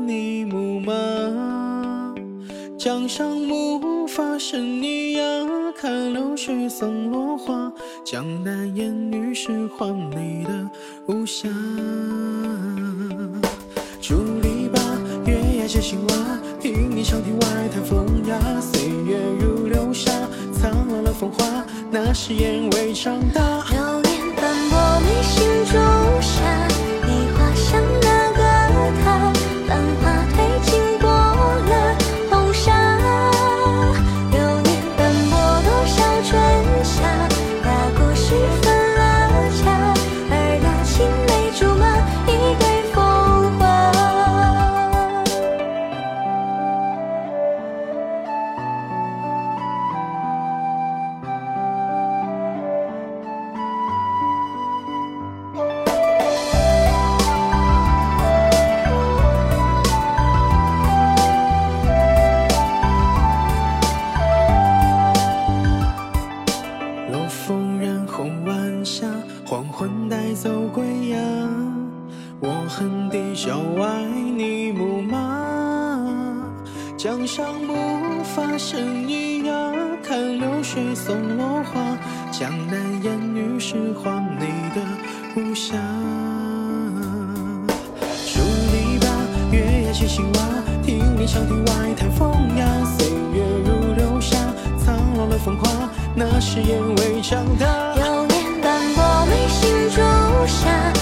你牧马，江上木发生你呀，看流水送落花，江南烟雨是黄泥的无暇。竹篱笆，月牙接青蛙，听你长亭外台风呀，岁月如流沙，苍老了风华，那是烟未长大。 流年斑驳眉心中沙，你画上那个他，繁华褪尽过了红纱。流年斑驳多少春夏，那故事分了家，而那青梅竹马一对风华。 落风染红晚霞，黄昏带走归呀。我恨地郊外你牧马，江上木发生意呀，看流水送落花，江南烟雨是黄泥的无暇。竹篱笆，月牙接青蛙，听你长亭外台风呀，岁月如流沙，苍老了风华，那是烟未长大。 流年斑驳眉心中沙，